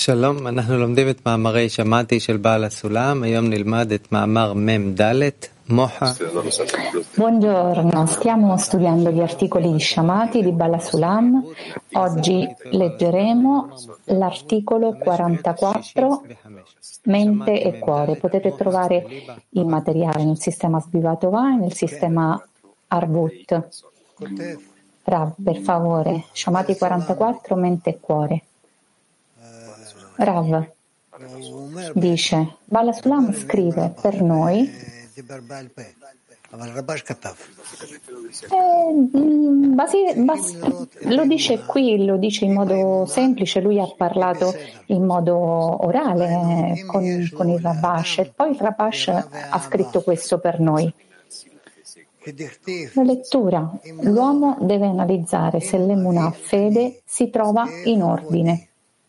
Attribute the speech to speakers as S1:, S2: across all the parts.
S1: שלום, אנחנו לומדים את מאמרי שמעתי של בעל הסולם, היום נלמד את מאמר מ"ד, מוחה.
S2: Buongiorno, stiamo studiando gli articoli di Shamati di Bala Sulam. Oggi leggeremo l'articolo 44, mente e cuore. Potete trovare il materiale nel sistema Sbivatová e nel sistema Arvut. Rav, per favore, Shamati 44, mente e cuore. Rav dice, Bala Sulam scrive per noi, lo dice qui, lo dice in modo semplice, lui ha parlato in modo orale con il Rabash e poi il Rabash ha scritto questo per noi. La lettura, l'uomo deve analizzare se l'emunah fede si trova in ordine,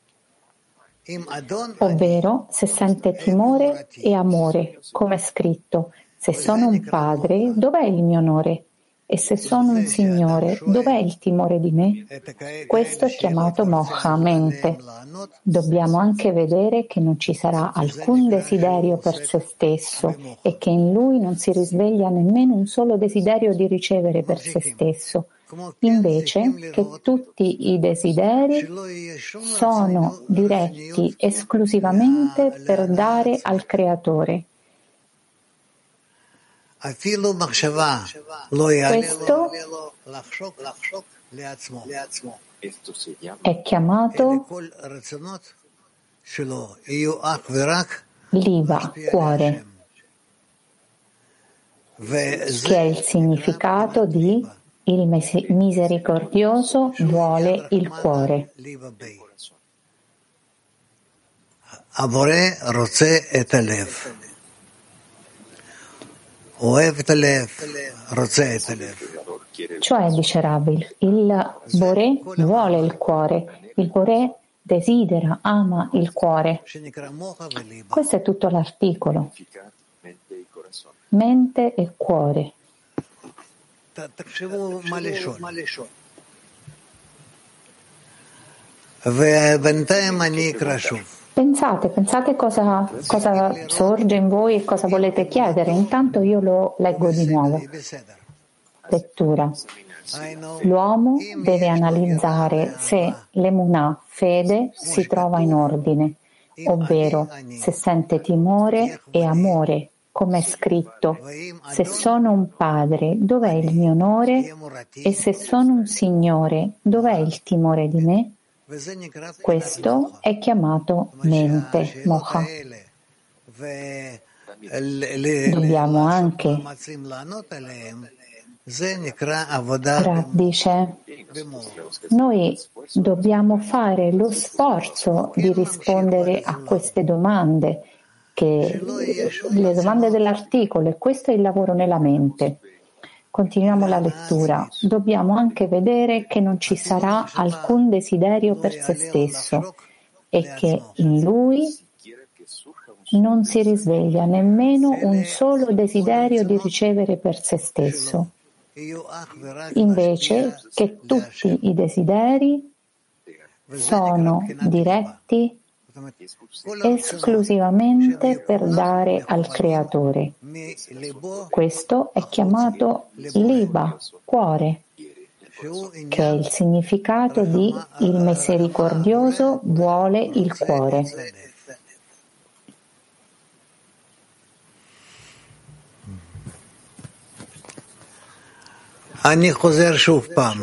S2: ovvero se sente timore e amore, come è scritto, se sono un padre, dov'è il mio onore? E se sono un signore, dov'è il timore di me? Questo è chiamato moha, mente. Dobbiamo anche vedere che non ci sarà alcun desiderio per se stesso e che in lui non si risveglia nemmeno un solo desiderio di ricevere per se stesso. Invece che tutti i desideri sono diretti esclusivamente per dare al Creatore. Questo è chiamato Liva, cuore, che è il significato di il misericordioso vuole il cuore. Cioè, dice Rabbi, il Boré vuole il cuore, il Boré desidera, ama il cuore. Questo è tutto l'articolo. Mente e cuore. Pensate cosa sorge in voi e cosa volete chiedere. Intanto io lo leggo di nuovo. Lettura. L'uomo deve analizzare se l'emunah, fede, si trova in ordine, ovvero se sente timore e amore, come è scritto, se sono un padre, dov'è il mio onore? E se sono un signore, dov'è il timore di me? Questo è chiamato mente, moha. Dobbiamo anche, Rav dice, noi dobbiamo fare lo sforzo di rispondere a queste domande, che le domande dell'articolo, e questo è il lavoro nella mente. Continuiamo la lettura. Dobbiamo anche vedere che non ci sarà alcun desiderio per se stesso e che in lui non si risveglia nemmeno un solo desiderio di ricevere per se stesso. Invece che tutti i desideri sono diretti esclusivamente per dare al Creatore. Questo è chiamato Liba, cuore, che è il significato di il misericordioso vuole il cuore.
S3: אני חוזר שוב פעם.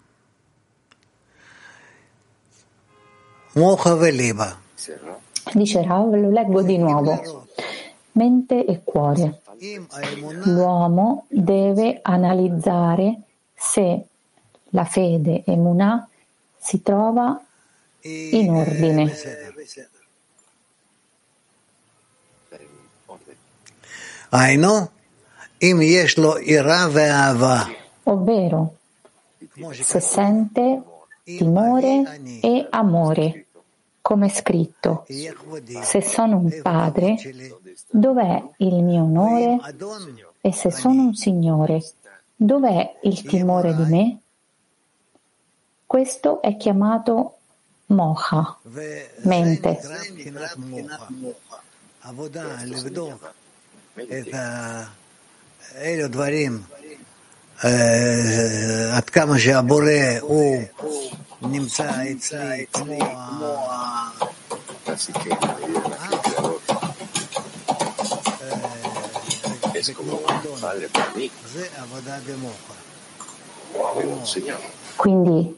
S3: מוחה וליבה.
S2: Dice Rav, lo leggo di nuovo. Mente e cuore. L'uomo deve analizzare se la fede emunah si trova in ordine. Ovvero, se sente timore e amore, come è scritto, se sono un padre, dov'è il mio onore? E se sono un signore, dov'è il timore di me? Questo è chiamato moha, mente.
S3: עד כמה שהבורא הוא נמצא אצלי כמו זה עבודה במוח.
S2: Quindi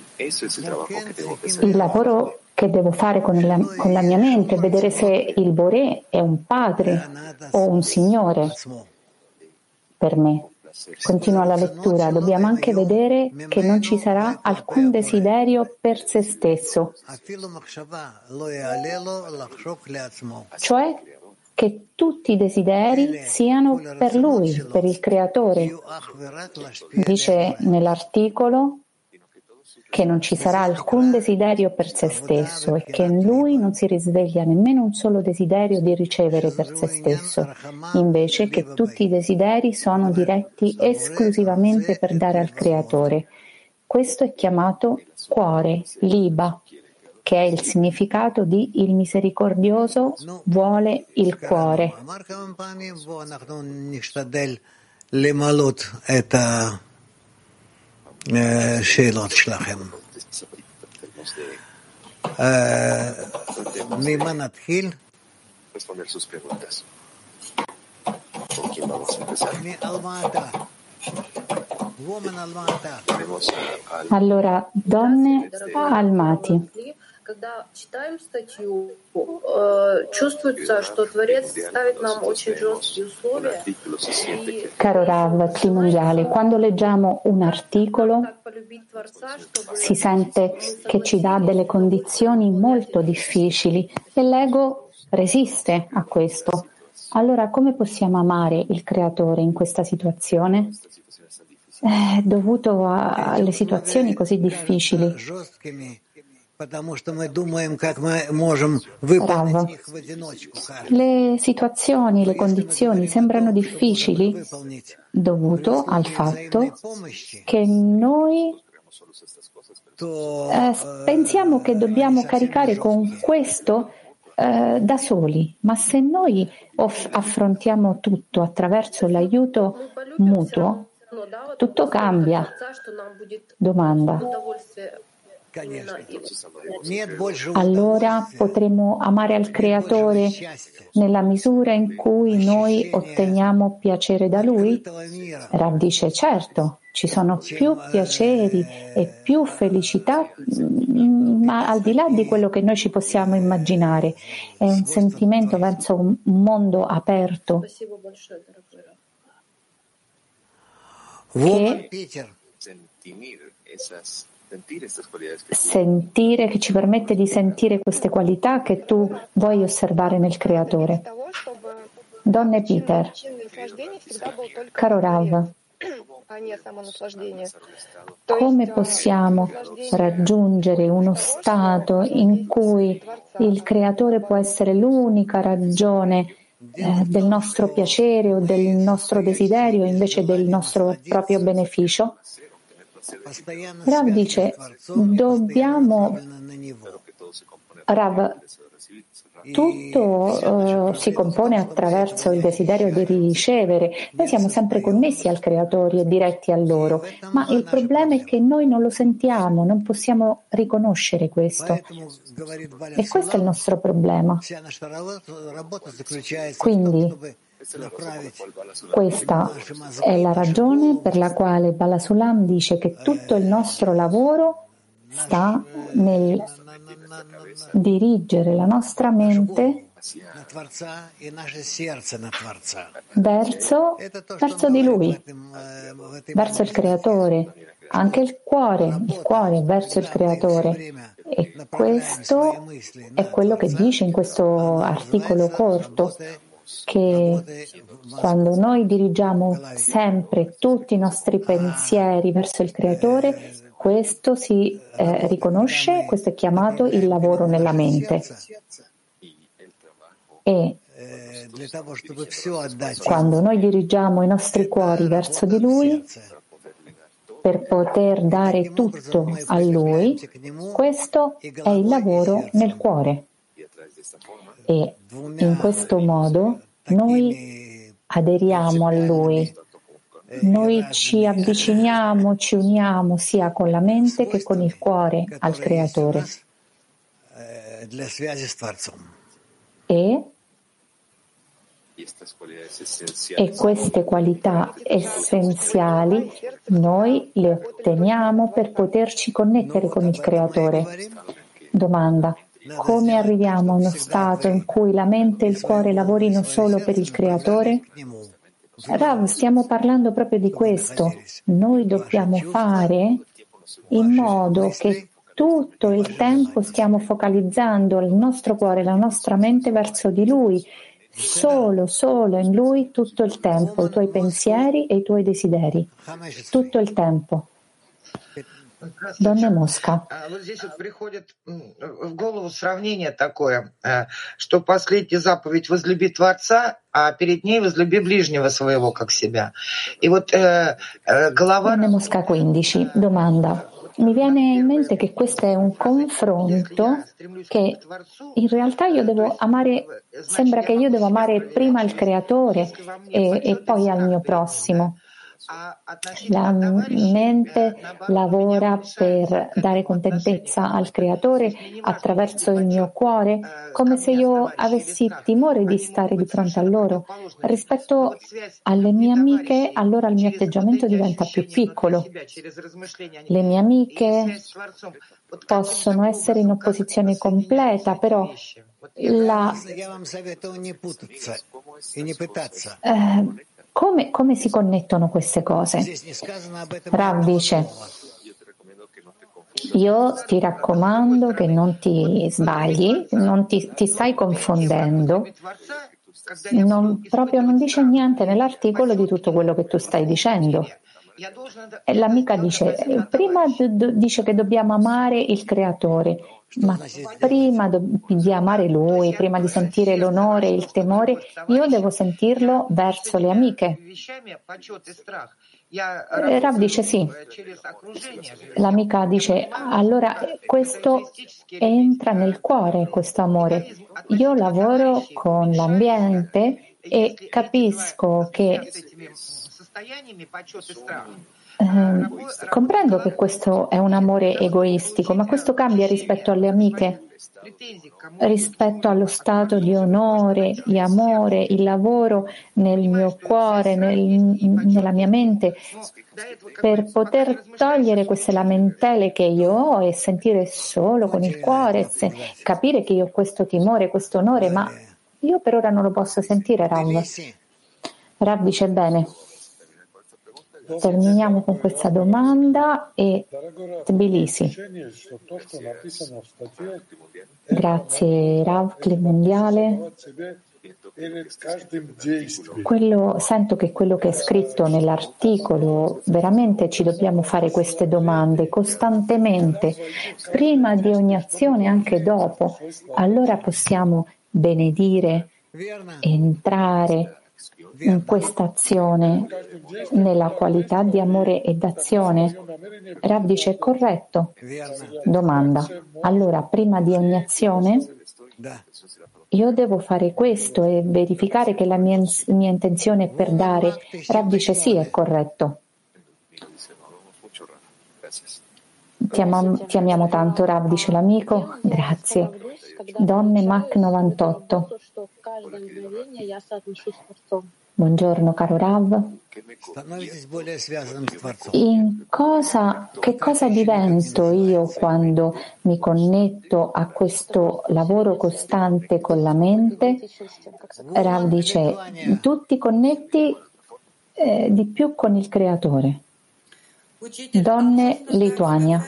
S2: il lavoro che devo fare con la mia mente è vedere se il Boré è un padre o un signore per me. Continua la lettura, dobbiamo anche vedere che non ci sarà alcun desiderio per se stesso, cioè che tutti i desideri siano per lui, per il creatore. Dice nell'articolo che non ci sarà alcun desiderio per se stesso e che in lui non si risveglia nemmeno un solo desiderio di ricevere per se stesso, invece che tutti i desideri sono diretti esclusivamente per dare al creatore. Questo è chiamato cuore, liba, che è il significato di il misericordioso vuole il cuore.
S3: שאלות שלכם. ממה נתחיל?
S2: Allora, donne Almati.
S4: Когда читаем статью, чувствуется, что Творец ставит нам очень жесткие условия.
S2: Caro Rav, Cli Mondiale, quando leggiamo un articolo si sente che ci dà delle condizioni molto difficili e l'ego resiste a questo. Allora, come possiamo amare il Creatore in questa situazione? Dovuto alle situazioni così difficili. Rav, le situazioni, le condizioni sembrano difficili dovuto al fatto che noi pensiamo che dobbiamo caricare con questo da soli, ma se noi affrontiamo tutto attraverso l'aiuto mutuo, tutto cambia. Domanda. Allora potremo amare al Creatore nella misura in cui noi otteniamo piacere da Lui? Rav dice certo, ci sono più piaceri e più felicità, ma al di là di quello che noi ci possiamo immaginare. È un sentimento verso un mondo aperto che sentire, che ci permette di sentire queste qualità che tu vuoi osservare nel Creatore. Donne Peter, caro Rav, come possiamo raggiungere uno stato in cui il Creatore può essere l'unica ragione del nostro piacere o del nostro desiderio invece del nostro proprio beneficio? Rav dice, tutto si compone attraverso il desiderio di ricevere. Noi siamo sempre connessi al Creatore e diretti a loro, ma il problema è che noi non lo sentiamo, non possiamo riconoscere questo. E questo è il nostro problema. Quindi, questa è la ragione per la quale Bala Sulam dice che tutto il nostro lavoro sta nel dirigere la nostra mente verso di Lui, verso il Creatore, anche il cuore verso il Creatore. E questo è quello che dice in questo articolo corto, che quando noi dirigiamo sempre tutti i nostri pensieri verso il Creatore, questo si riconosce, questo è chiamato il lavoro nella mente. E quando noi dirigiamo i nostri cuori verso di Lui, per poter dare tutto a Lui, questo è il lavoro nel cuore. E in questo modo noi aderiamo a Lui, noi ci avviciniamo, ci uniamo sia con la mente che con il cuore al Creatore. E queste qualità essenziali noi le otteniamo per poterci connettere con il Creatore. Domanda: come arriviamo a uno stato in cui la mente e il cuore lavorino solo per il Creatore? Rav, stiamo parlando proprio di questo. Noi dobbiamo fare in modo che tutto il tempo stiamo focalizzando il nostro cuore, la nostra mente verso di Lui, solo in Lui tutto il tempo, i tuoi pensieri e i tuoi desideri, tutto il tempo. Донна Моско.
S5: Вот здесь вот приходит в голову сравнение такое, что последняя заповедь «возлюби Творца», а перед ней «возлюби ближнего своего, как себя». И вот голова...
S2: Donna Mosca 15, domanda. Mi viene in mente che questo è un confronto che in realtà io devo amare, sembra che io devo amare prima il Creatore e poi al mio prossimo. La mente lavora per dare contentezza al Creatore attraverso il mio cuore, come se io avessi timore di stare di fronte a loro. Rispetto alle mie amiche, allora il mio atteggiamento diventa più piccolo. Le mie amiche possono essere in opposizione completa, però come si connettono queste cose? Rav dice: io ti raccomando che non ti sbagli, non ti stai confondendo. Proprio non dice niente nell'articolo di tutto quello che tu stai dicendo. E l'amica dice: prima dice che dobbiamo amare il Creatore, ma prima di amare Lui, prima di sentire l'onore e il temore, io devo sentirlo verso le amiche. Rav dice sì. L'amica dice: allora questo entra nel cuore, questo amore. Io lavoro con l'ambiente e capisco che comprendo che questo è un amore egoistico, ma questo cambia rispetto alle amiche, rispetto allo stato di onore, di amore, il lavoro nel mio cuore, nella mia mente, per poter togliere queste lamentele che io ho e sentire solo con il cuore, capire che io ho questo timore, questo onore, ma io per ora non lo posso sentire, Rav. Rav dice: bene. Terminiamo con questa domanda e Tbilisi. Grazie Rav, Club Mondiale. Sento che quello che è scritto nell'articolo, veramente ci dobbiamo fare queste domande costantemente, prima di ogni azione, anche dopo. Allora possiamo benedire, entrare in questa azione nella qualità di amore e d'azione. Rav dice: corretto. Domanda: allora prima di ogni azione io devo fare questo e verificare che la mia intenzione è per dare? Rav dice: sì, è corretto. Ti amiamo tanto, Rav, dice l'amico. Grazie. Donne Mac 98. Buongiorno caro Rav. Che cosa divento io quando mi connetto a questo lavoro costante con la mente? Rav dice: tu ti connetti di più con il Creatore. Donne Lituania.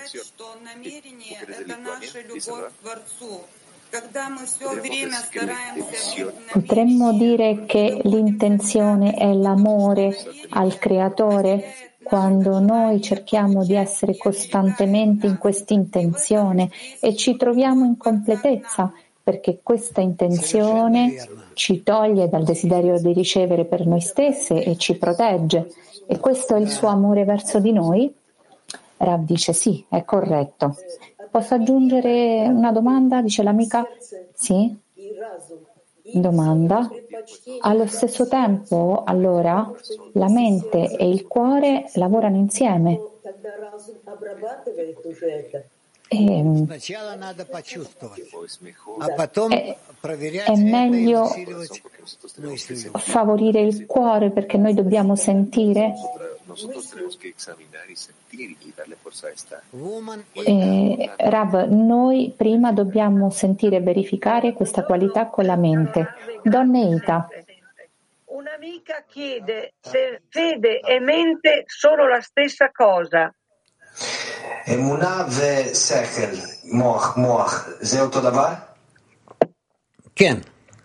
S2: Potremmo dire che l'intenzione è l'amore al Creatore quando noi cerchiamo di essere costantemente in questa intenzione e ci troviamo in completezza, perché questa intenzione ci toglie dal desiderio di ricevere per noi stesse e ci protegge. E questo è il suo amore verso di noi? Rav dice sì, è corretto. Posso aggiungere una domanda? Dice l'amica. Sì? Domanda. Allo stesso tempo, allora, la mente e il cuore lavorano insieme. È meglio favorire il cuore perché noi dobbiamo sentire. Rav, noi prima dobbiamo sentire e verificare questa qualità con la mente. Donne Ita.
S6: Un'amica chiede se fede e mente sono la stessa cosa.
S7: אמונה ושכל, מוח, זה אותו דבר?
S3: כן.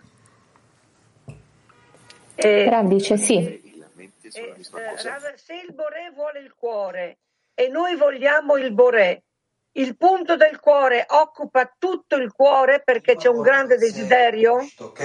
S2: Rav dice sì.
S6: Se il Boré vuole il cuore e noi vogliamo il Boré, il punto del cuore occupa tutto il cuore perché c'è un grande desiderio?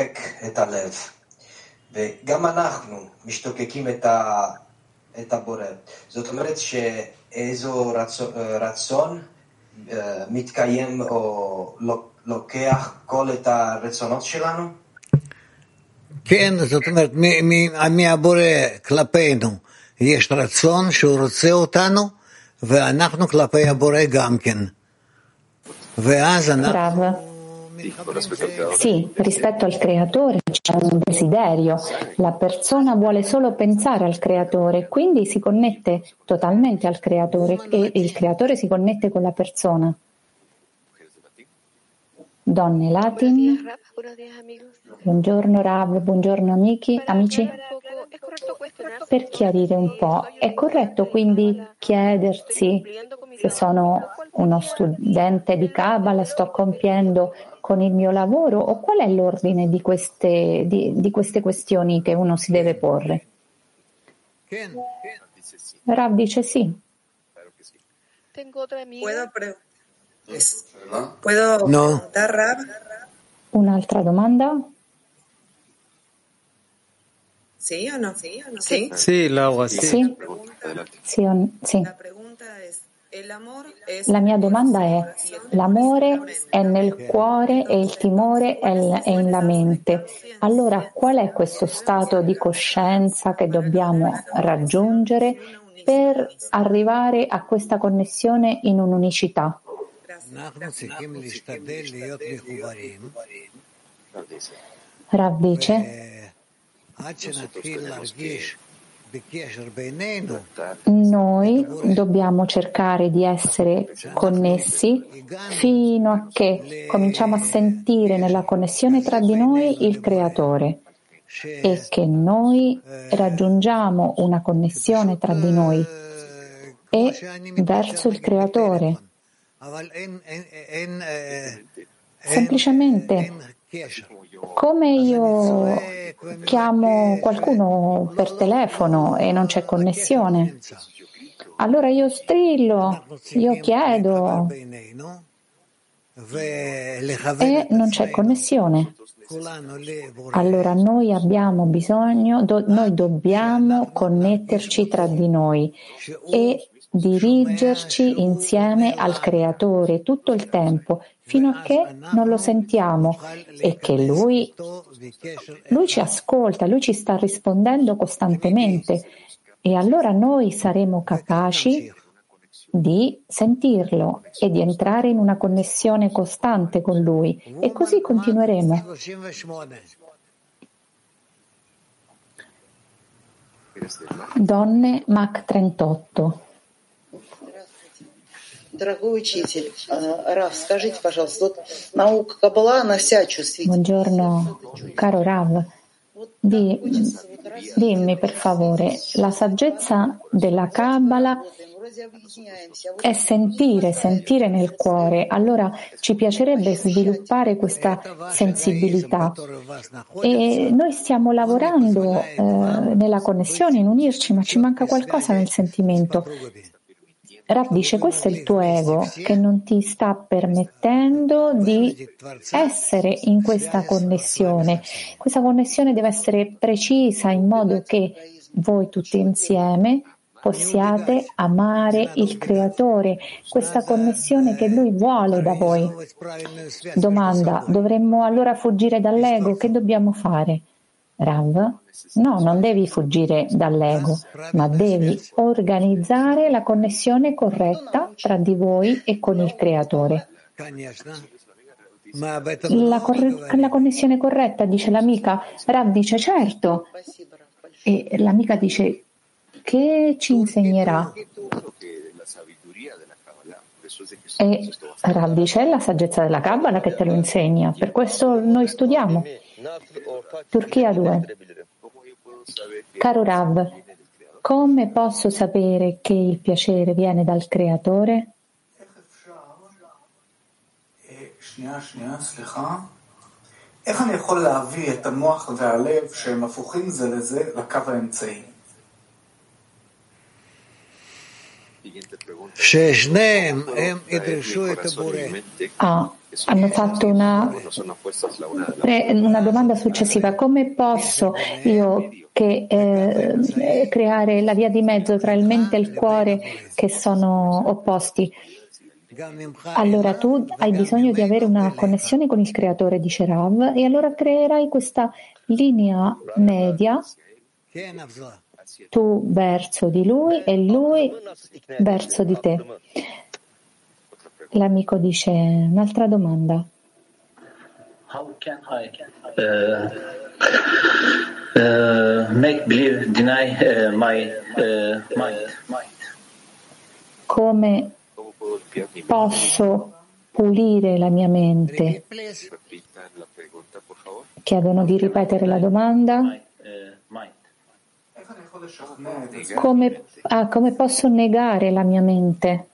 S7: וגם אנחנו משתוקקים את הבורא. זאת אומרת שאיזו רצון מתקיים או לוקח כל את הרצונות שלנו?
S3: כן, זאת אומרת, מהבורא כלפינו יש רצון שהוא רוצה אותנו, ואנחנו כלפי הבורא גם כן. ואז אנחנו...
S2: Sì, rispetto al creatore c'è un desiderio, la persona vuole solo pensare al creatore, quindi si connette totalmente al creatore e il creatore si connette con la persona. Donne Latin, buongiorno Rav, buongiorno amici. Per chiarire un po', è corretto quindi chiedersi se sono uno studente di Kabbalah, sto compiendo con il mio lavoro, o qual è l'ordine di queste questioni che uno si deve porre? Rav dice sì.
S8: ¿Puedo preguntar, Rav?
S2: Un'altra domanda?
S8: Sì o no?
S1: Sì, Laura, sì.
S2: Sì. La mia domanda è: l'amore è nel cuore e il timore è nella mente. Allora, qual è questo stato di coscienza che dobbiamo raggiungere per arrivare a questa connessione in un'unicità? Rav dice: noi dobbiamo cercare di essere connessi fino a che cominciamo a sentire nella connessione tra di noi il Creatore e che noi raggiungiamo una connessione tra di noi e verso il Creatore. Semplicemente come io chiamo qualcuno per telefono e non c'è connessione, allora io strillo, io chiedo e non c'è connessione. Allora noi abbiamo bisogno, noi dobbiamo connetterci tra di noi e dirigerci insieme al Creatore tutto il tempo fino a che non lo sentiamo e che Lui ci ascolta, Lui ci sta rispondendo costantemente e allora noi saremo capaci di sentirlo e di entrare in una connessione costante con Lui e così continueremo. Donne Mach 38.
S9: Дорогой учитель, Рав, скажите, пожалуйста, вот наука Каббала, она вся чувствительна.
S2: Buongiorno, caro Rav. Dimmi per favore, la saggezza della Kabbalah è sentire nel cuore. Allora ci piacerebbe sviluppare questa sensibilità e noi stiamo lavorando nella connessione, in unirci, ma ci manca qualcosa nel sentimento. Rav dice: questo è il tuo ego che non ti sta permettendo di essere in questa connessione. Questa connessione deve essere precisa in modo che voi tutti insieme possiate amare il Creatore, questa connessione che Lui vuole da voi. Domanda: dovremmo allora fuggire dall'ego? Che dobbiamo fare? Rav? No, non devi fuggire dall'ego, ma devi organizzare la connessione corretta tra di voi e con il Creatore. La connessione corretta, dice l'amica. Rav dice certo. E l'amica dice: che ci insegnerà? E Rav dice: è la saggezza della Kabbalah che te lo insegna, per questo noi studiamo. Turchia 2. Caro Rav, come posso sapere che il piacere viene dal Creatore?
S10: איך אני יכול להביא את המוח והלב שהם הפוכים זה לזה לקו האמצעי?
S2: Hanno fatto una domanda successiva: come posso io creare la via di mezzo tra il mente e il cuore che sono opposti? Allora tu hai bisogno di avere una connessione con il Creatore, dice Rav, e allora creerai questa linea media, tu verso di lui e lui verso di te. L'amico dice: un'altra domanda.
S11: How can I make believe deny my mind?
S2: Come posso pulire la mia mente? Chiedono di ripetere la domanda. Come posso negare la mia mente?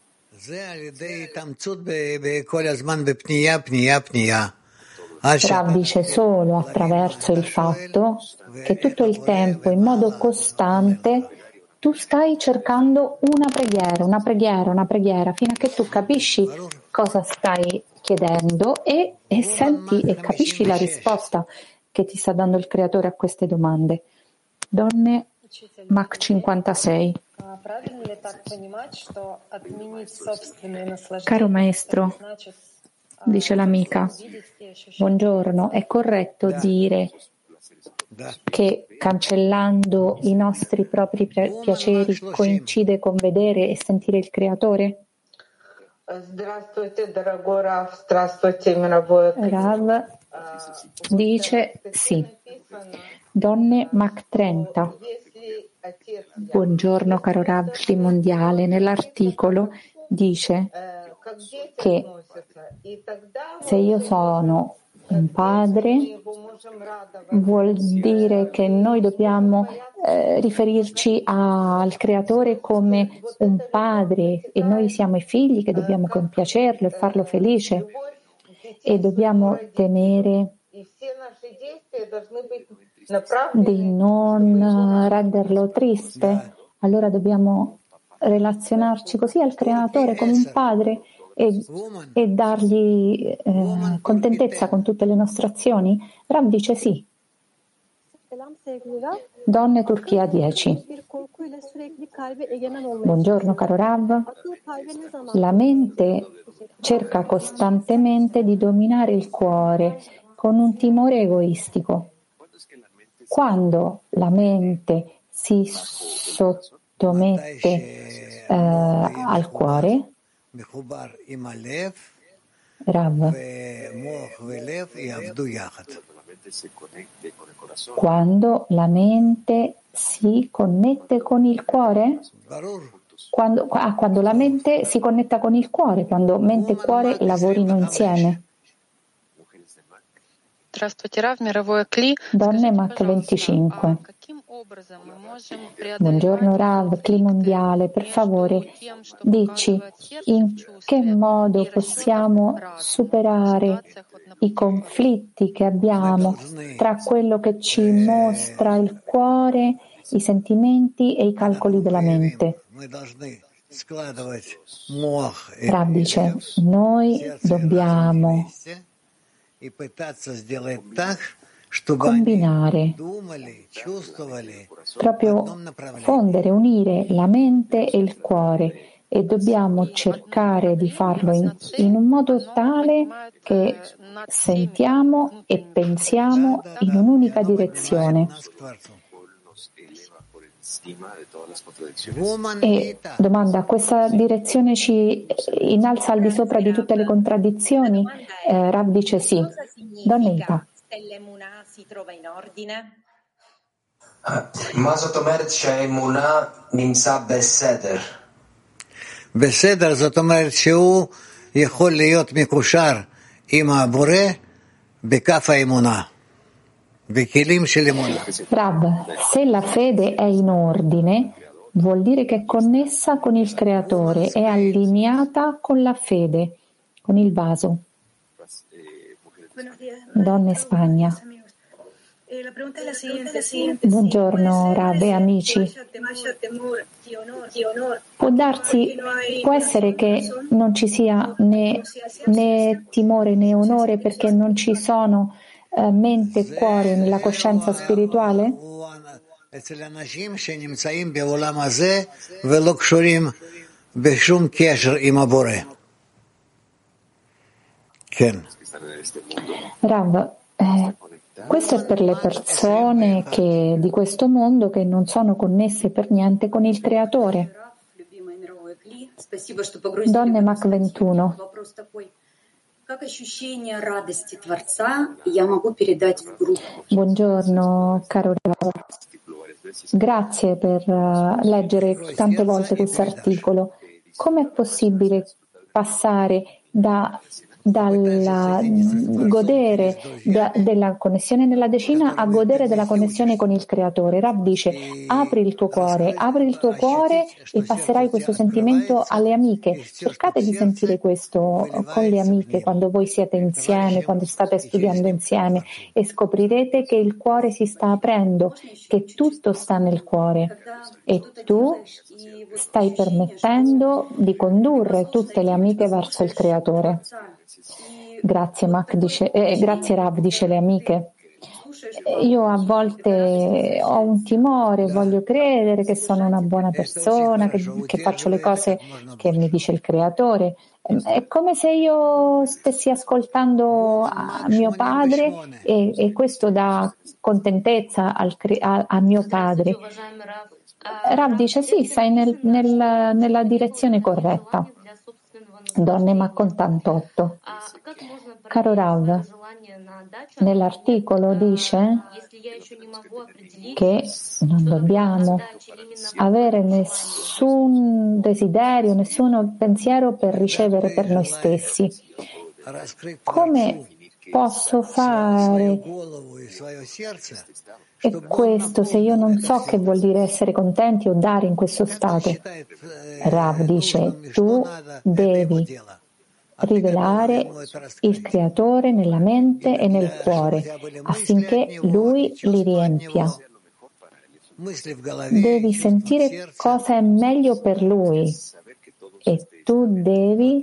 S2: Rav dice: solo attraverso il fatto che tutto il tempo, in modo costante, tu stai cercando una preghiera, fino a che tu capisci cosa stai chiedendo e senti e capisci la risposta che ti sta dando il Creatore a queste domande. Donne Mach 56. Caro maestro, dice l'amica, buongiorno, è corretto dire che cancellando i nostri propri piaceri coincide con vedere e sentire il Creatore? Rav dice sì. Donne Mach 30. Buongiorno caro Rav Mondiale, nell'articolo dice che se io sono un padre vuol dire che noi dobbiamo riferirci al Creatore come un padre e noi siamo i figli che dobbiamo compiacerlo e farlo felice e dobbiamo temere di non renderlo triste. Allora dobbiamo relazionarci così al Creatore come un padre e dargli contentezza con tutte le nostre azioni? Rav dice sì. Donne Turchia 10. Buongiorno caro Rav. La mente cerca costantemente di dominare il cuore con un timore egoistico. Quando la mente si sottomette al cuore, Rav, quando la mente si connette con il cuore? Quando la mente si connetta con il cuore, quando mente e cuore lavorino insieme. Donne Mach 25. Buongiorno Rav, Cli Mondiale, per favore dici in che modo possiamo superare i conflitti che abbiamo tra quello che ci mostra il cuore, i sentimenti e i calcoli della mente. Rav dice, noi dobbiamo combinare, proprio fondere, unire la mente e il cuore, e dobbiamo cercare di farlo in un modo tale che sentiamo e pensiamo in un'unica direzione. E domanda, questa direzione ci innalza al di sopra di tutte le contraddizioni? Rav dice sì. Donna Ita.
S12: Si trova in ordine?
S7: מה זאת אומרת שהאמונה נמצא בסדר?
S3: בסדר, זאת אומרת שהוא יכול להיות מקושר עם הבורא בכף האמונה, בכלים של אמונה.
S2: Rav, se la fede è in ordine, vuol dire che è connessa con il Creatore, è allineata con la fede, con il vaso. Donne Spagna. Buongiorno Rav e amici. Può essere che non ci sia né timore né onore perché non ci sono mente e cuore nella coscienza spirituale? Rav, questo è per le persone di questo mondo che non sono connesse per niente con il Creatore. Donne Mach 21. Buongiorno caro Rav. Grazie per leggere tante volte questo articolo. Come è possibile passare dal godere della connessione nella decina a godere della connessione con il Creatore? Rav dice: apri il tuo cuore e passerai questo sentimento alle amiche. Cercate di sentire questo con le amiche quando voi siete insieme, quando state studiando insieme, e scoprirete che il cuore si sta aprendo, che tutto sta nel cuore e tu stai permettendo di condurre tutte le amiche verso il Creatore. Grazie Rav, dice le amiche. Io a volte ho un timore, voglio credere che sono una buona persona, che faccio le cose che mi dice il Creatore. È come se io stessi ascoltando a mio padre e questo dà contentezza a mio padre. Rav dice sì, stai nella direzione corretta. Donne Mach 88. Caro Rav, nell'articolo dice che non dobbiamo avere nessun desiderio, nessun pensiero per ricevere per noi stessi. Come posso fare questo se io non so che vuol dire essere contenti o dare in questo stato? Rav dice: tu devi rivelare il Creatore nella mente e nel cuore affinché Lui li riempia. Devi sentire cosa è meglio per Lui e tu devi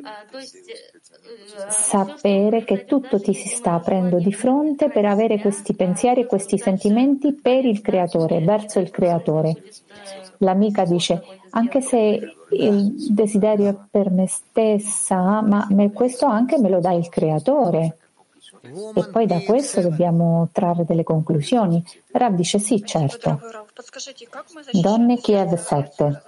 S2: sapere che tutto ti si sta aprendo di fronte per avere questi pensieri e questi sentimenti per il Creatore, verso il Creatore. L'amica dice: anche se il desiderio è per me stessa, ma questo anche me lo dà il Creatore. E poi da questo dobbiamo trarre delle conclusioni. Rav dice sì, certo. Donne Kiev 7.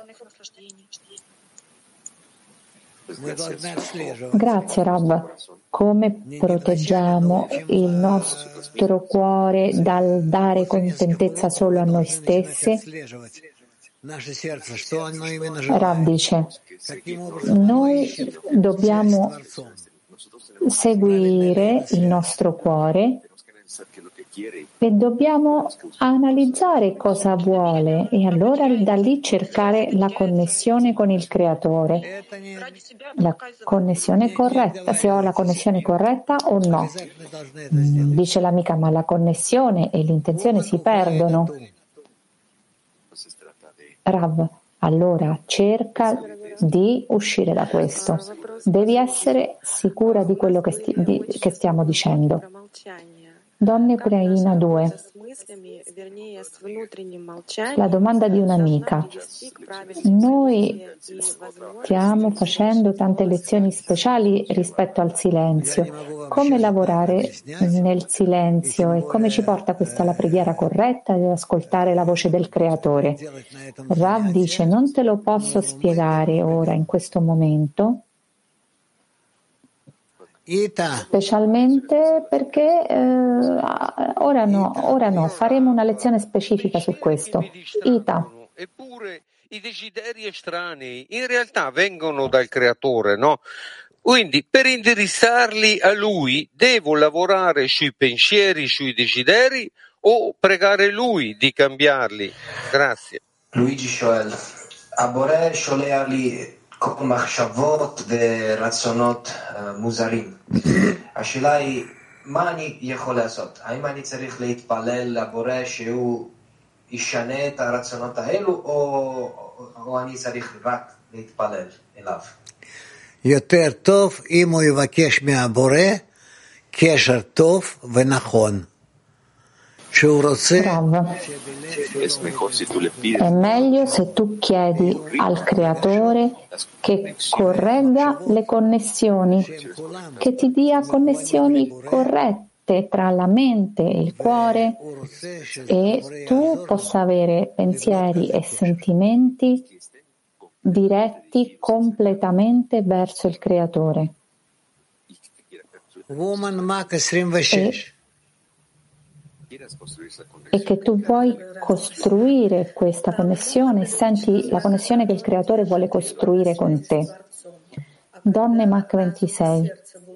S2: Grazie Rav. Come proteggiamo il nostro cuore dal dare contentezza solo a noi stessi? Rav dice: noi dobbiamo seguire il nostro cuore e dobbiamo analizzare cosa vuole e allora da lì cercare la connessione con il Creatore, la connessione corretta, se ho la connessione corretta o no. Dice l'amica: ma la connessione e l'intenzione si perdono. Rav, allora cerca di uscire da questo. Devi essere sicura di quello che stiamo dicendo. Donna Ucraina 2. La domanda di un'amica. Noi stiamo facendo tante lezioni speciali rispetto al silenzio. Come lavorare nel silenzio e come ci porta questa alla preghiera corretta ed ascoltare la voce del Creatore? Rav dice: non te lo posso spiegare ora in questo momento, specialmente perché ora no, faremo una lezione specifica su questo. Ita.
S13: Eppure i desideri estranei in realtà vengono dal Creatore, no? Quindi per indirizzarli a Lui devo lavorare sui pensieri, sui desideri o pregare Lui di cambiarli? Grazie.
S7: Luigi שואל, הבורא שולח לי כל מחשבות ורצונות מוזרים. השאלה היא, מה אני יכול לעשות? האם אני צריך להתפלל לבורא שהוא ישנה את הרצונות האלו, או אני צריך רק להתפלל אליו?
S3: יותר טוב אם הוא יבקש מהבורא קשר טוב ונכון.
S2: È meglio se tu chiedi al Creatore che corregga le connessioni, che ti dia connessioni corrette tra la mente e il cuore e tu possa avere pensieri e sentimenti diretti completamente verso il Creatore. E che tu vuoi costruire questa connessione, senti la connessione che il Creatore vuole costruire con te. Donne Mach 26.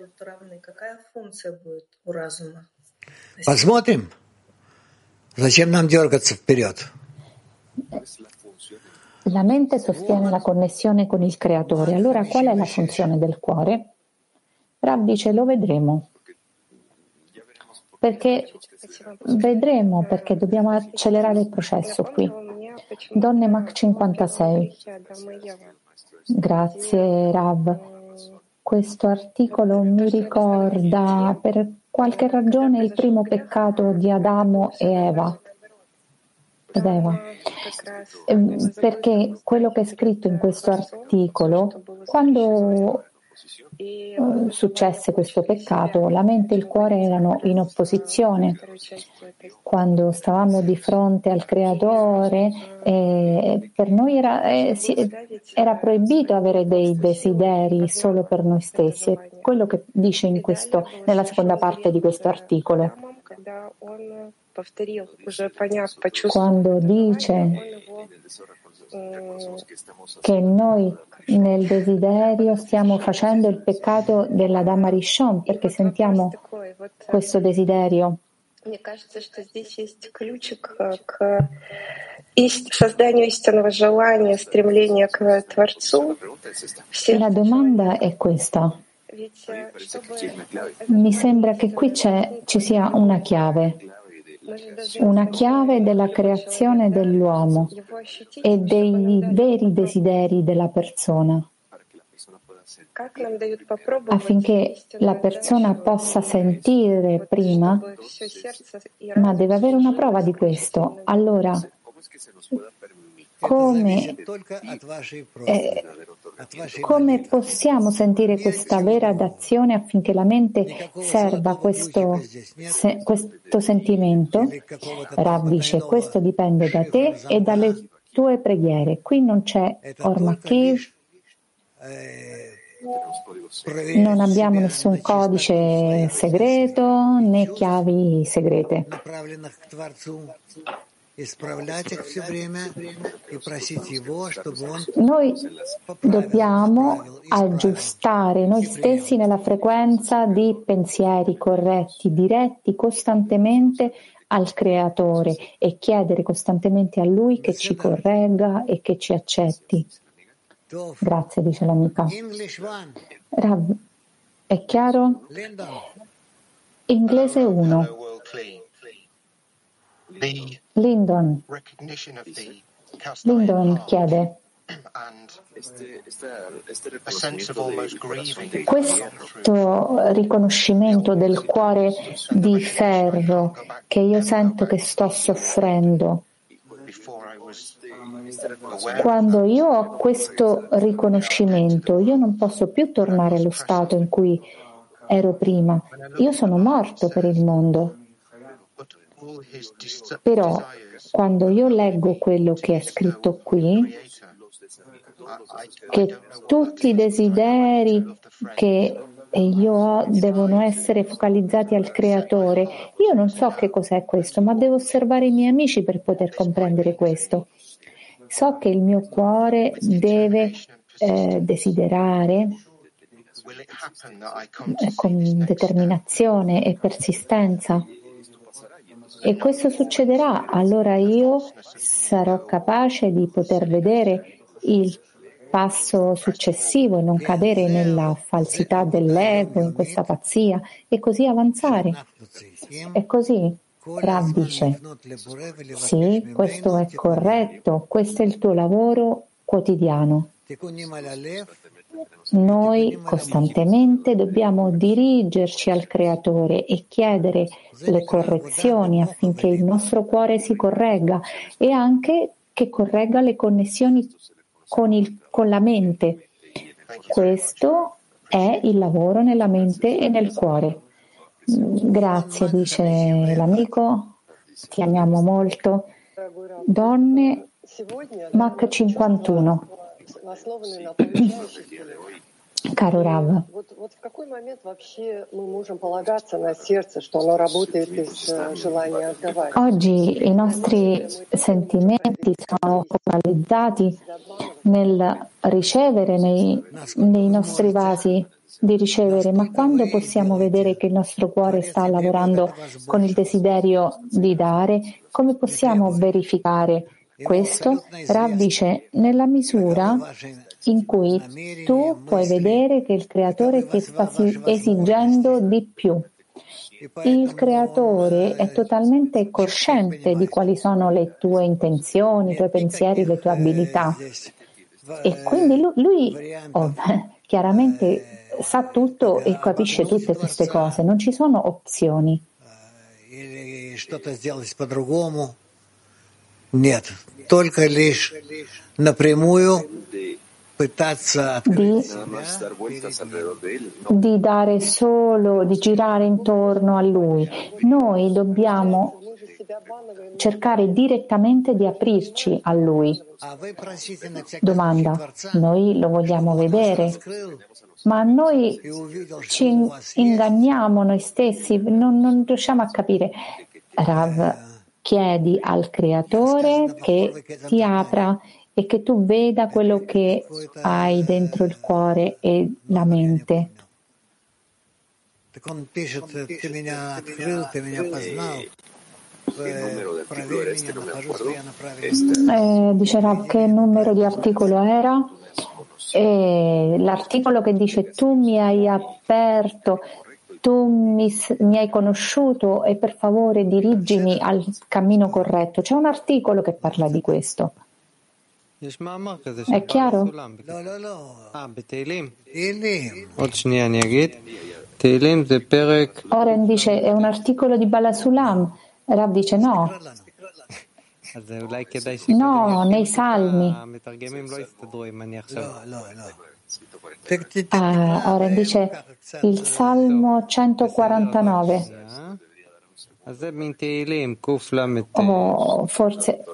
S3: Посмотрим. Зачем нам дергаться вперед?
S2: La mente sostiene la connessione con il Creatore. Allora qual è la funzione del cuore? Rav dice: lo vedremo. Perché dobbiamo accelerare il processo qui. Donne Mach 56. Grazie Rav. Questo articolo mi ricorda per qualche ragione il primo peccato di Adamo ed Eva. Perché quello che è scritto in questo articolo, quando successe questo peccato, la mente e il cuore erano in opposizione. Quando stavamo di fronte al Creatore, per noi era proibito avere dei desideri solo per noi stessi. È quello che dice nella seconda parte di questo articolo. Quando dice che noi nel desiderio stiamo facendo il peccato dell'Adam Arishon perché sentiamo questo desiderio. La domanda è questa. Mi sembra che qui ci sia una chiave della creazione dell'uomo e dei veri desideri della persona, affinché la persona possa sentire prima, ma deve avere una prova di questo. Allora, come possiamo sentire questa vera d'azione affinché la mente serva questo sentimento? Rav dice: questo dipende da te e dalle tue preghiere. Qui non c'è Ormakiv, non abbiamo nessun codice segreto né chiavi segrete. Noi dobbiamo aggiustare noi stessi nella frequenza di pensieri corretti, diretti costantemente al Creatore e chiedere costantemente a Lui che ci corregga e che ci accetti. Grazie, dice l'amica. Rav, è chiaro? Inglese 1. Lyndon chiede: Questo riconoscimento del cuore di ferro che io sento che sto soffrendo, quando io ho questo riconoscimento, io non posso più tornare allo stato in cui ero prima. Io sono morto per il mondo. Però, quando io leggo quello che è scritto qui, che tutti i desideri che io ho devono essere focalizzati al Creatore, io non so che cos'è questo, ma devo osservare i miei amici per poter comprendere questo. So che il mio cuore deve desiderare con determinazione e persistenza. E questo succederà, allora io sarò capace di poter vedere il passo successivo e non cadere nella falsità dell'ego, in questa pazzia, e così avanzare. È così? Rav dice, sì, questo è corretto, questo è il tuo lavoro quotidiano. Noi costantemente dobbiamo dirigerci al Creatore e chiedere le correzioni affinché il nostro cuore si corregga e anche che corregga le connessioni con la mente. Questo è il lavoro nella mente e nel cuore. Grazie, dice l'amico, ti amiamo molto. Donne, Mach 51. Caro Rav, oggi i nostri sentimenti sono focalizzati nel ricevere nei nostri vasi di ricevere, ma quando possiamo vedere che il nostro cuore sta lavorando con il desiderio di dare, come possiamo verificare questo? Rav dice, nella misura in cui tu puoi vedere che il Creatore ti sta esigendo di più. Il Creatore è totalmente cosciente di quali sono le tue intenzioni, i tuoi pensieri, le tue abilità. E quindi lui chiaramente sa tutto e capisce tutte queste cose, non ci sono opzioni.
S3: Нет, только лишь напрямую
S2: di dare solo, di girare intorno a Lui. Noi dobbiamo cercare direttamente di aprirci a Lui. Domanda, noi lo vogliamo vedere, ma noi ci inganniamo noi stessi, non riusciamo a capire. Rav, chiedi al Creatore che ti apra e che tu veda quello che hai dentro il cuore e la mente. Dice Rav, che numero di articolo era? L'articolo che dice tu mi hai aperto, tu mi hai conosciuto e per favore dirigimi al cammino corretto. C'è un articolo che parla di questo. È chiaro? Oren dice è un articolo di Bala Sulam. Rav dice no. No, nei Salmi. Oren dice il Salmo 149. Oh, forse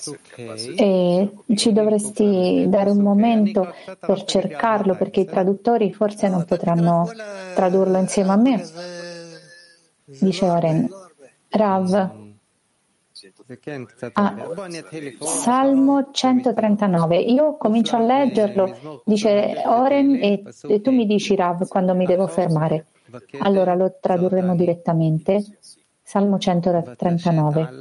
S2: ci dovresti dare un momento per cercarlo, perché i traduttori forse non potranno tradurlo insieme a me. Dice Oren. Rav. Salmo 139. Io comincio a leggerlo, dice Oren, e tu mi dici Rav quando mi devo fermare. Allora lo tradurremo direttamente. Salmo 139.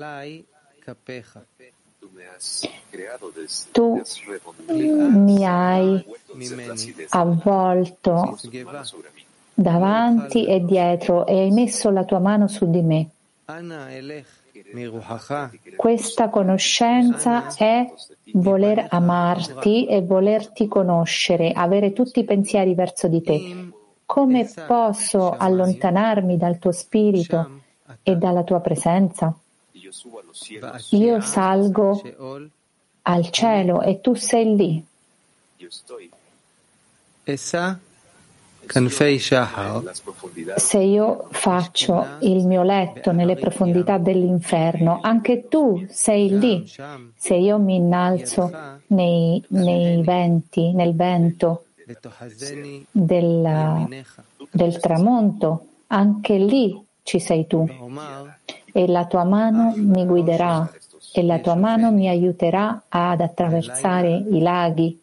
S2: Tu mi hai avvolto davanti e dietro e hai messo la tua mano su di me. Questa conoscenza è voler amarti e volerti conoscere, avere tutti i pensieri verso di te. Come posso allontanarmi dal tuo spirito e dalla tua presenza? Io salgo al cielo e tu sei lì. Se io faccio il mio letto nelle profondità dell'inferno, anche tu sei lì. Se io mi innalzo nei venti, nel vento del tramonto, anche lì ci sei tu. E la tua mano mi guiderà e la tua mano mi aiuterà ad attraversare i laghi.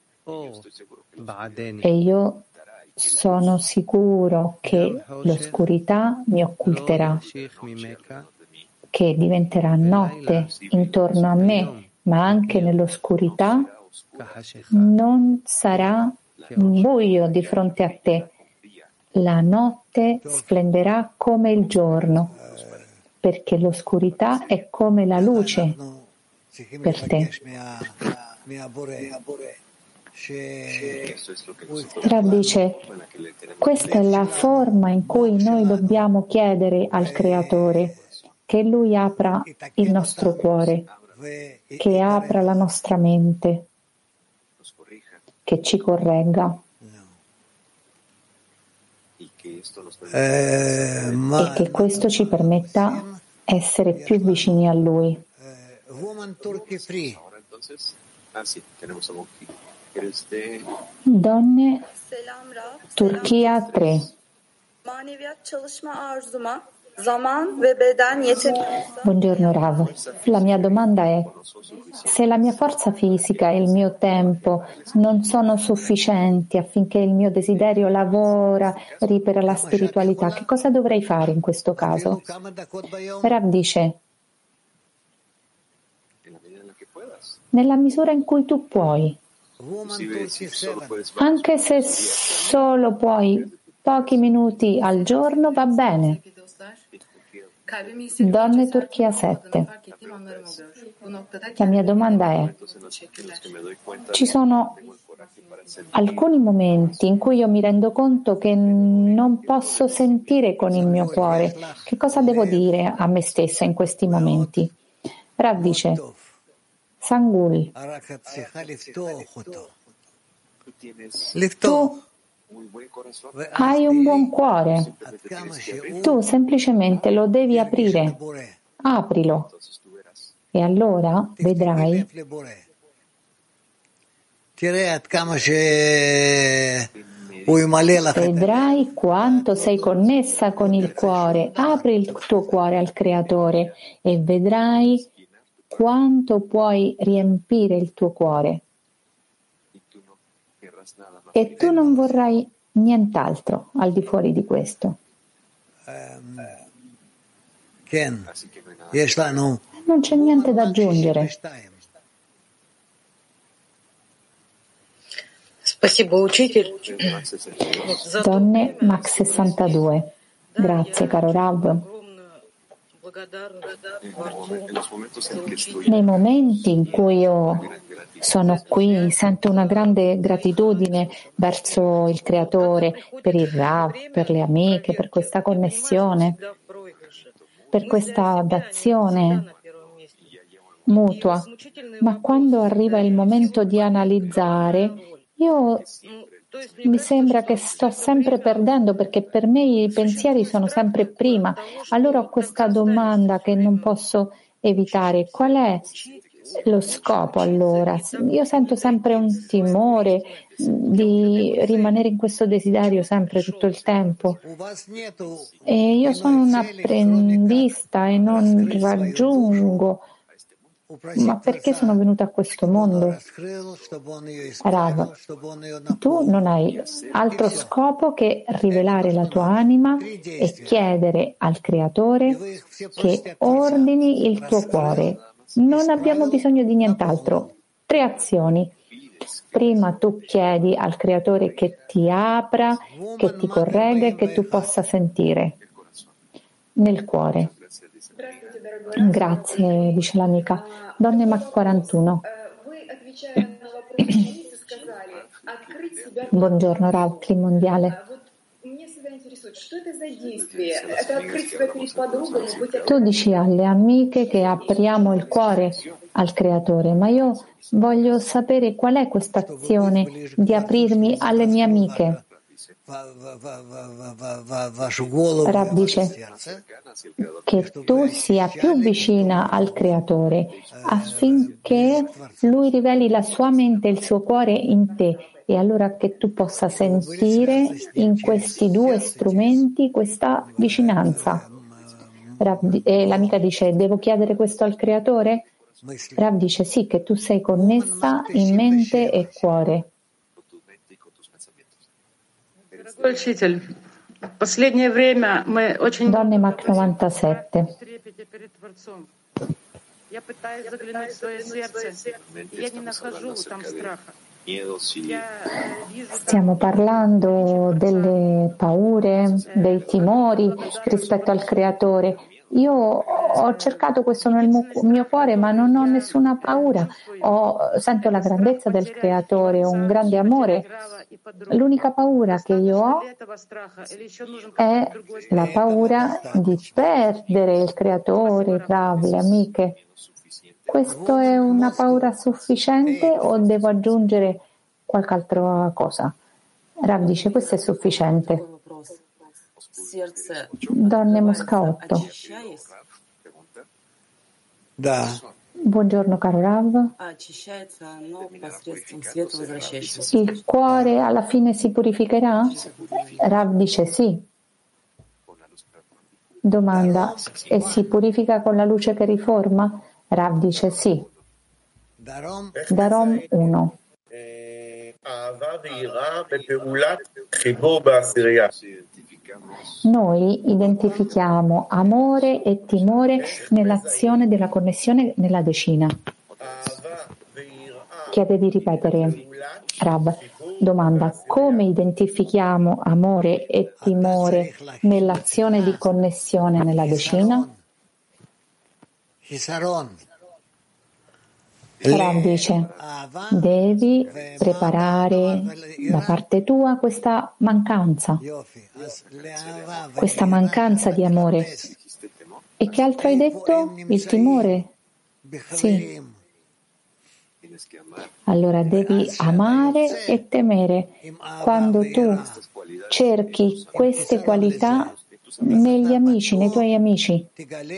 S2: E io sono sicuro che l'oscurità mi occulterà, che diventerà notte intorno a me, ma anche nell'oscurità non sarà buio di fronte a te. La notte splenderà come il giorno, perché l'oscurità è come la luce per te. Rav dice, questa è la forma in cui noi dobbiamo chiedere al Creatore, che Lui apra il nostro cuore, che apra la nostra mente, che ci corregga e che questo ci permetta essere più vicini a Lui. Donne, Turchia 3. Buongiorno Rav, la mia domanda è: se la mia forza fisica e il mio tempo non sono sufficienti affinché il mio desiderio lavora per la spiritualità, che cosa dovrei fare in questo caso? Rav dice: nella misura in cui tu puoi, anche se solo puoi pochi minuti al giorno, va bene. Donne Turchia 7. La mia domanda è: ci sono alcuni momenti in cui io mi rendo conto che non posso sentire con il mio cuore. Che cosa devo dire a me stessa in questi momenti? Rav dice: Sangul, tu hai un buon cuore, tu semplicemente lo devi aprire, aprilo e allora vedrai quanto sei connessa con il cuore. Apri il tuo cuore al Creatore e vedrai quanto puoi riempire il tuo cuore. E tu non vorrai nient'altro al di fuori di questo. Non c'è niente da aggiungere. Donne Max 62. Grazie caro Rav. Nei momenti in cui io sono qui, sento una grande gratitudine verso il Creatore, per il Rav, per le amiche, per questa connessione, per questa dazione mutua. Ma quando arriva il momento di analizzare, io mi sembra che sto sempre perdendo, perché per me i pensieri sono sempre prima. Allora ho questa domanda che non posso evitare: qual è lo scopo allora? Io sento sempre un timore di rimanere in questo desiderio sempre, tutto il tempo, e io sono un apprendista e non raggiungo. Ma perché sono venuta a questo mondo? Rav, tu non hai altro scopo che rivelare la tua anima e chiedere al Creatore che ordini il tuo cuore. Non abbiamo bisogno di nient'altro. 3 azioni. Prima tu chiedi al Creatore che ti apra, che ti corregga e che tu possa sentire nel cuore. Grazie, dice l'amica. Donne Mac 41. Buongiorno, Rav, Cli mondiale. Tu dici alle amiche che apriamo il cuore al Creatore, ma io voglio sapere qual è questa azione di aprirmi alle mie amiche. Rav dice che tu sia più vicina al Creatore affinché Lui riveli la sua mente e il suo cuore in te, e allora che tu possa sentire in questi due strumenti questa vicinanza. E l'amica dice: devo chiedere questo al Creatore? Rav dice sì, che tu sei connessa in mente e cuore. Donne Mac 97. Stiamo parlando delle paure, dei timori rispetto al Creatore. Io ho cercato questo nel mio cuore, ma non ho nessuna paura. Sento la grandezza del Creatore, un grande amore. L'unica paura che io ho è la paura di perdere il Creatore, Rav, le amiche. Questo è una paura sufficiente o devo aggiungere qualche altra cosa? Rav dice: questo è sufficiente. Donne Mosca 8. Buongiorno caro Rav. Il cuore alla fine si purificherà? Rav dice sì. Domanda: e si purifica con la luce che riforma? Rav dice sì. Darom 1. Noi identifichiamo amore e timore nell'azione della connessione nella decina. Chiede di ripetere, Rav. Domanda: come identifichiamo amore e timore nell'azione di connessione nella decina? Rav dice: devi preparare da parte tua questa mancanza di amore. E che altro hai detto? Il timore? Sì. Allora devi amare e temere. Quando tu cerchi queste qualità negli amici, nei tuoi amici,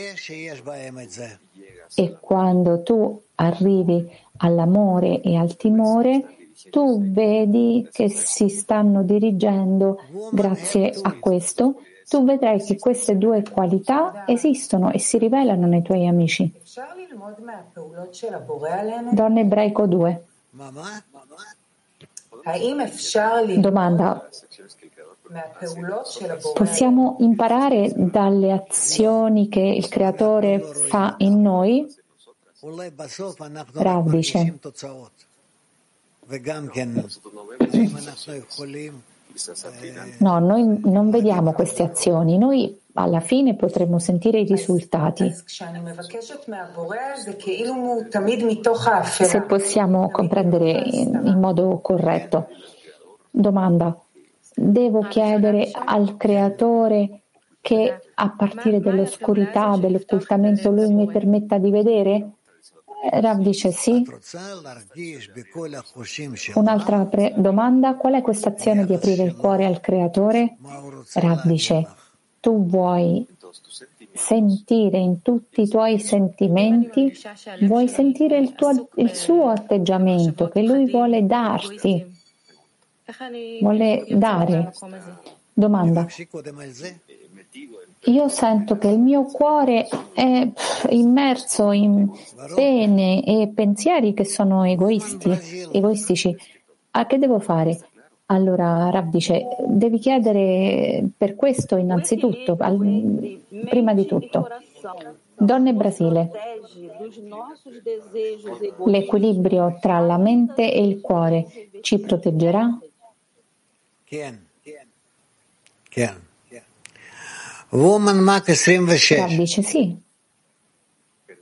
S2: e quando tu arrivi all'amore e al timore, tu vedi che si stanno dirigendo grazie a questo. Tu vedrai che queste due qualità esistono e si rivelano nei tuoi amici. Donne Ebraico 2. Domanda: possiamo imparare dalle azioni che il Creatore fa in noi? Rav dice: no, noi non vediamo queste azioni, noi alla fine potremo sentire i risultati. Se possiamo comprendere in modo corretto. Domanda: devo chiedere al Creatore che a partire dall'oscurità, dell'occultamento, Lui mi permetta di vedere? Rav dice sì. Un'altra domanda: qual è questa azione di aprire il cuore al Creatore? Rav dice: tu vuoi sentire in tutti i tuoi sentimenti, vuoi sentire il suo atteggiamento che Lui vuole darti, vuole dare. Domanda: io sento che il mio cuore è immerso in pene e pensieri che sono egoistici. A che devo fare? Allora Rav dice: devi chiedere per questo innanzitutto, prima di tutto. Donne Brasile. L'equilibrio tra la mente e il cuore ci proteggerà? Rav dice sì.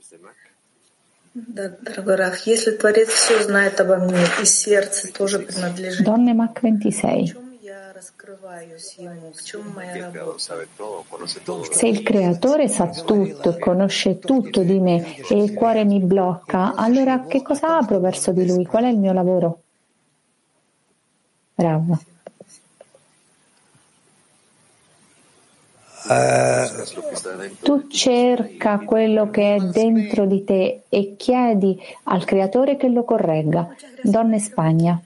S2: Donne Mach 26. Se il creatore sa tutto e conosce tutto di me e il cuore mi blocca, allora che cosa apro verso di lui? Qual è il mio lavoro? Rav. Tu cerca quello che è dentro di te e chiedi al creatore che lo corregga. Donne Spagna.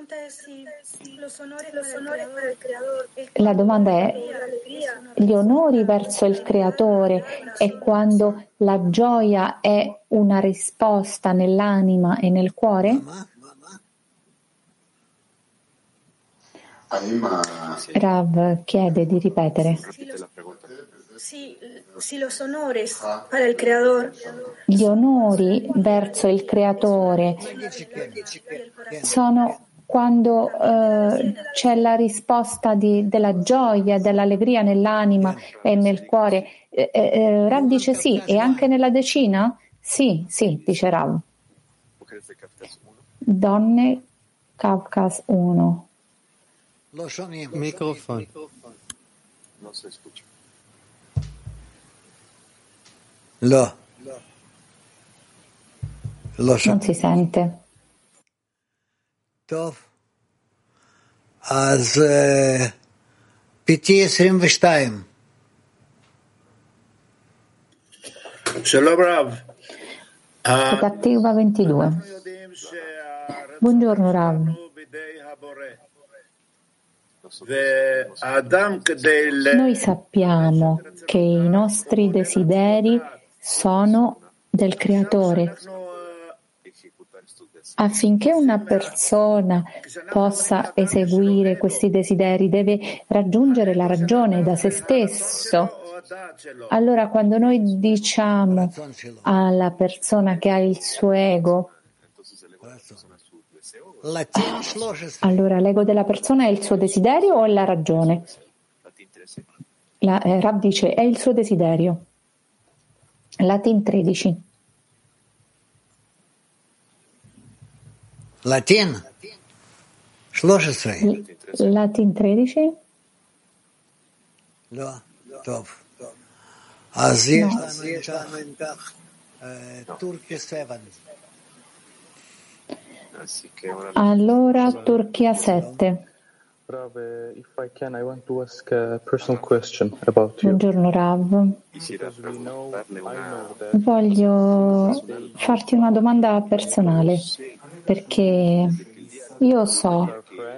S2: La domanda è: gli onori verso il creatore è quando la gioia è una risposta nell'anima e nel cuore? Rav chiede di ripetere. Gli onori verso il creatore sono quando c'è la risposta della gioia, dell'allegria nell'anima e nel cuore. Rav dice sì, e anche nella decina? Sì, dice Rav. Donne Caucas 1.
S1: Microfono.
S2: Non si sente.
S3: טוב, אז PT22.
S14: Shalom Rav.
S2: Cattiva 22. Buongiorno Rav. Noi sappiamo che i nostri desideri sono del Creatore. Affinché una persona possa eseguire questi desideri deve raggiungere la ragione da se stesso. Allora quando noi diciamo alla persona che ha il suo ego, allora l'ego della persona è il suo desiderio o è la ragione? Rav dice è il suo desiderio. Latin 13.
S3: Latin 13.
S2: Latin 13?
S3: לא, טוב. אז יש לנו אם כך טורקיה 7.
S2: Allora Turchia 7.
S15: Rav, if I can, I want to ask a personal question about you.
S2: Buongiorno Rav. Voglio farti una domanda personale, perché io so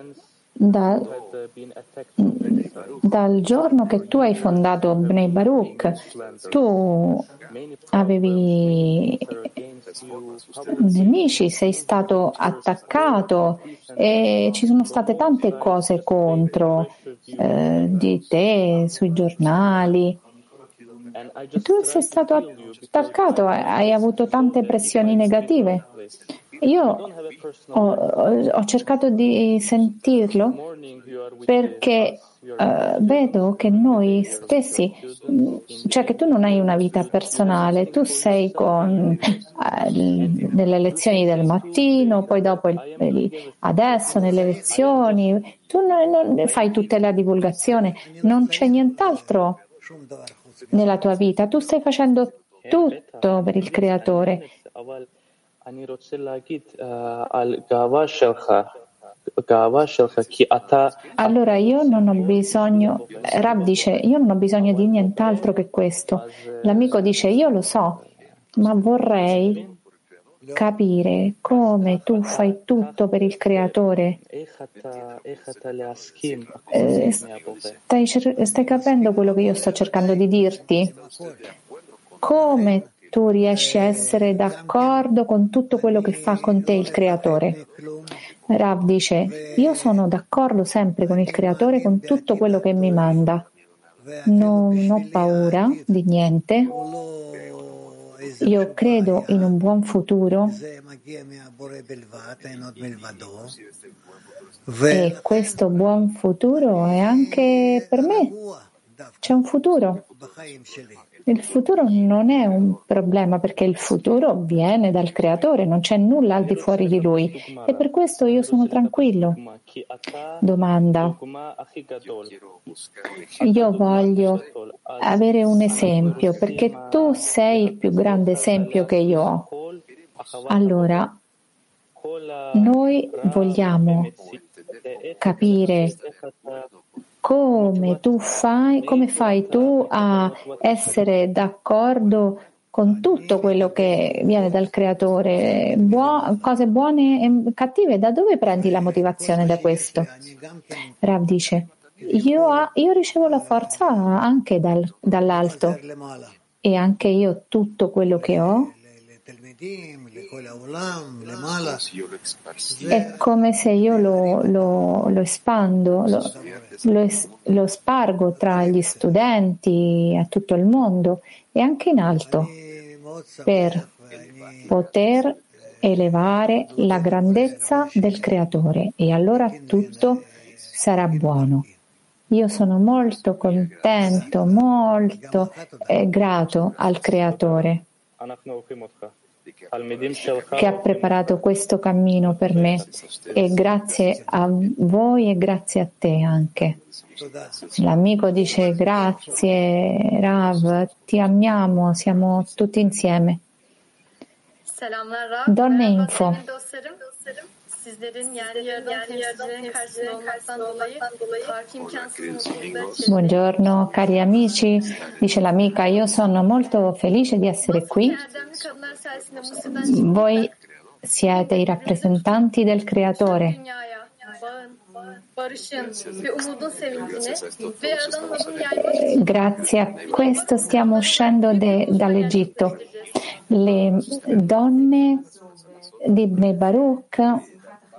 S2: dal giorno che tu hai fondato Bnei Baruch, tu avevi nemici, sei stato attaccato e ci sono state tante cose contro di te sui giornali. Tu sei stato attaccato, hai avuto tante pressioni negative. Io ho cercato di sentirlo perché vedo che noi stessi, cioè che tu non hai una vita personale, tu sei con nelle lezioni del mattino, poi dopo adesso nelle lezioni, tu non fai tutta la divulgazione, non c'è nient'altro nella tua vita, tu stai facendo tutto per il Creatore. Allora io non ho bisogno, Rav dice, io non ho bisogno di nient'altro che questo. L'amico dice, io lo so, ma vorrei capire come tu fai tutto per il Creatore. Stai capendo quello che io sto cercando di dirti? Come tu riesci a essere d'accordo con tutto quello che fa con te il Creatore? Rav dice, io sono d'accordo sempre con il Creatore, con tutto quello che mi manda. Non ho paura di niente. Io credo in un buon futuro e questo buon futuro è anche per me. C'è un futuro Il futuro non è un problema perché il futuro viene dal Creatore, non c'è nulla al di fuori di Lui e per questo io sono tranquillo. Domanda. Io voglio avere un esempio perché tu sei il più grande esempio che io ho. Allora, noi vogliamo capire come fai tu a essere d'accordo con tutto quello che viene dal Creatore, cose buone e cattive. Da dove prendi la motivazione da questo? Rav dice, io ricevo la forza anche dall'alto e anche io tutto quello che ho è come se io lo espando, lo spargo tra gli studenti a tutto il mondo e anche in alto per poter elevare la grandezza del Creatore e allora tutto sarà buono. Io sono molto contento, molto grato al Creatore che ha preparato questo cammino per me e grazie a voi e grazie a te anche. L'amico dice grazie Rav, ti amiamo, siamo tutti insieme. Donne Info. Buongiorno cari amici, dice l'amica, io sono molto felice di essere qui. Voi siete i rappresentanti del Creatore. Grazie a questo stiamo uscendo dall'Egitto. Le donne di Bnei Baruch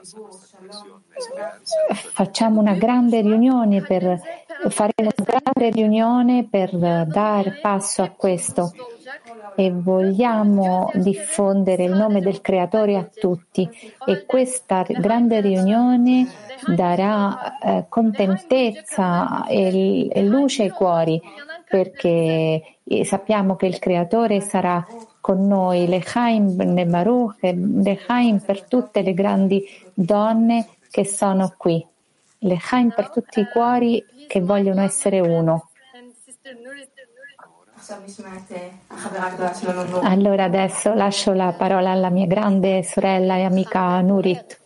S2: facciamo una grande riunione per dar passo a questo e vogliamo diffondere il nome del Creatore a tutti e questa grande riunione darà contentezza e luce ai cuori perché sappiamo che il Creatore sarà con noi, Lechaim Bnei Baruch e Lechaim per tutte le grandi donne che sono qui, Lechaim per tutti i cuori che vogliono essere uno. Allora adesso lascio la parola alla mia grande sorella e amica Nurit.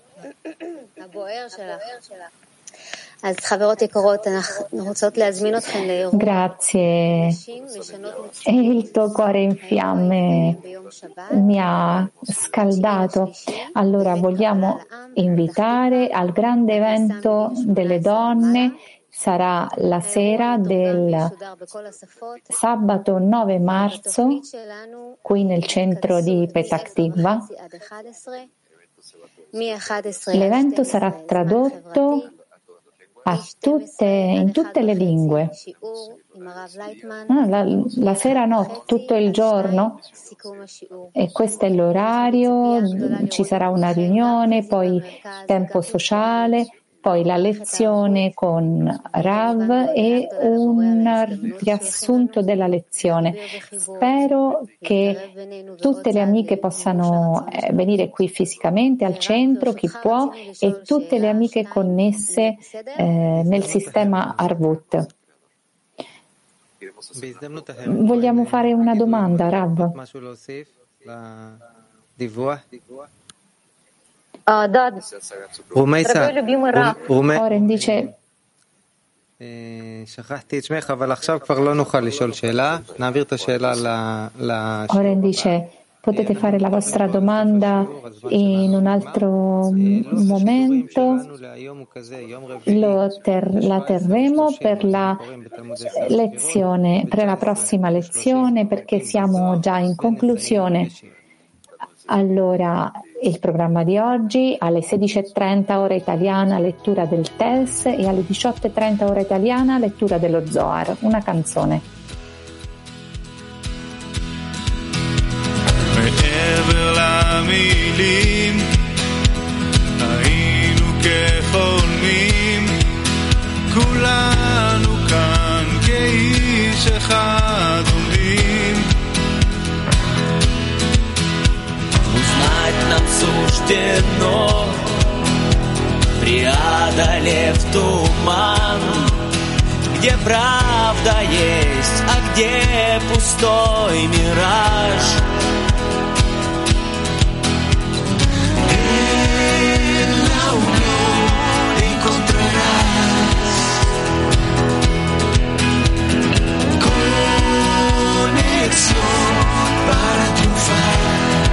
S2: Grazie. E il tuo cuore in fiamme mi ha scaldato. Allora vogliamo invitare al grande evento delle donne. Sarà la sera del sabato 9 marzo qui nel centro di Petah Tikva. L'evento sarà tradotto in tutte le lingue. La sera no, tutto il giorno. E questo è l'orario, ci sarà una riunione, poi tempo sociale, poi la lezione con Rav e un riassunto della lezione. Spero che tutte le amiche possano venire qui fisicamente al centro, chi può, e tutte le amiche connesse nel sistema Arvut. Vogliamo fare una domanda, Rav? Oren dice potete fare la vostra domanda in un altro momento, la terremo per la lezione, per la prossima lezione, perché siamo già in conclusione. Allora, il programma di oggi alle 16:30 ora italiana lettura del Tels e alle 18:30 ora italiana lettura dello Zohar, una canzone.
S14: כולנו כאן כאיש אחד עומדים суждено, преодолев туман, где правда есть, а где пустой мираж. En la unión encontrarás conexión para triunfar.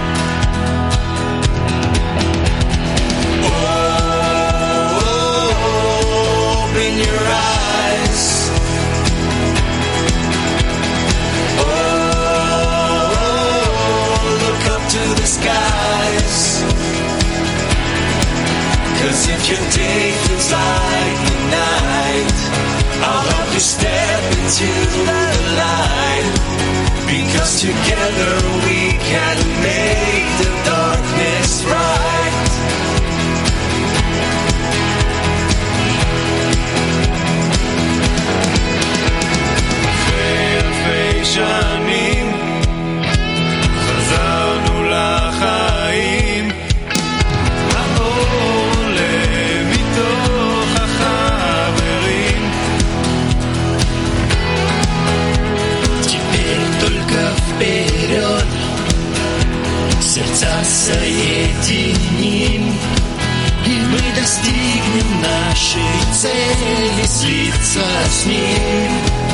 S14: Open your eyes. Look up to the skies. 'Cause if your day feels like the night, I'll help you step into the light. Because together we can make the darkness bright. שנים חזרנו לחיים, האור עולה מתוך החברים. Теперь только вперед, сердца соединим, и мы достигнем нашей цели, слиться с ним.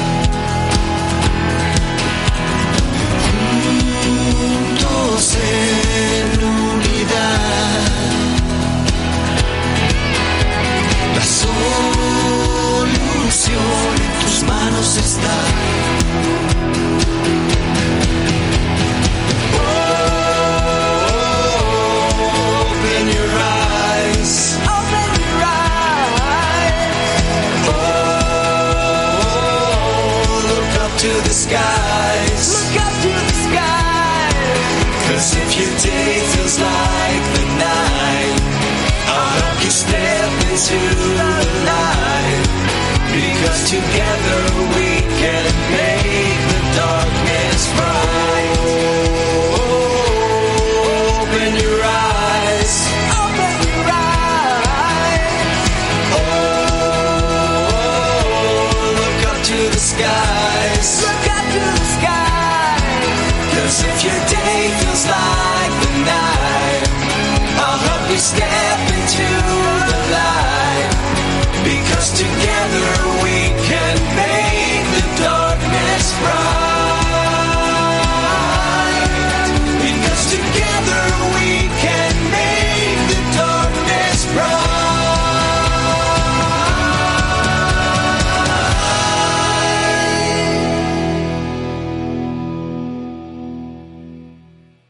S14: En unidad, la solución en tus manos está. Open your eyes. Open your eyes. Look up to the skies. Look up to the skies. 'Cause if your day feels like the night, I'll help you step into the light. Because together we can make the darkness bright. Open your eyes. Open your eyes. Look up to the skies. Look up to the skies. 'Cause if your day feels like the night, I'll help you step into the light. Because together